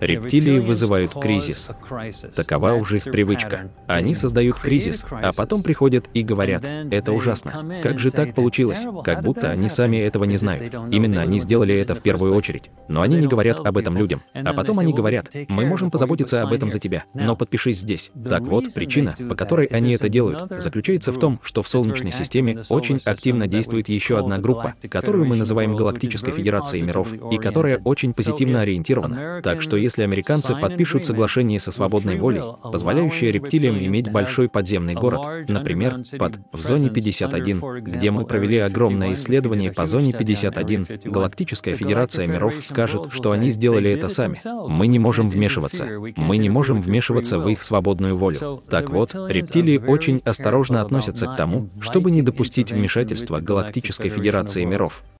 Рептилии вызывают кризис. Такова уже их привычка. Они создают кризис, а потом приходят и говорят: это ужасно. Как же так получилось? Как будто они сами этого не знают. Именно они сделали это в первую очередь. Но они не говорят об этом людям. А потом они говорят: мы можем позаботиться об этом за тебя, но подпишись здесь. Так вот, причина, по которой они это делают, заключается в том, что в Солнечной системе очень активно действует еще одна группа, которую мы называем Галактической Федерацией миров, и которая очень позитивно ориентирована. Так что если американцы подпишут соглашение со свободной волей, позволяющее рептилиям иметь большой подземный город, например, в зоне 51, где мы провели огромное исследование по зоне 51, Галактическая Федерация миров скажет, что они сделали это сами. Мы не можем вмешиваться. Мы не можем вмешиваться в их свободную волю. Так вот, рептилии очень осторожно относятся к тому, чтобы не допустить вмешательства Галактической Федерации миров.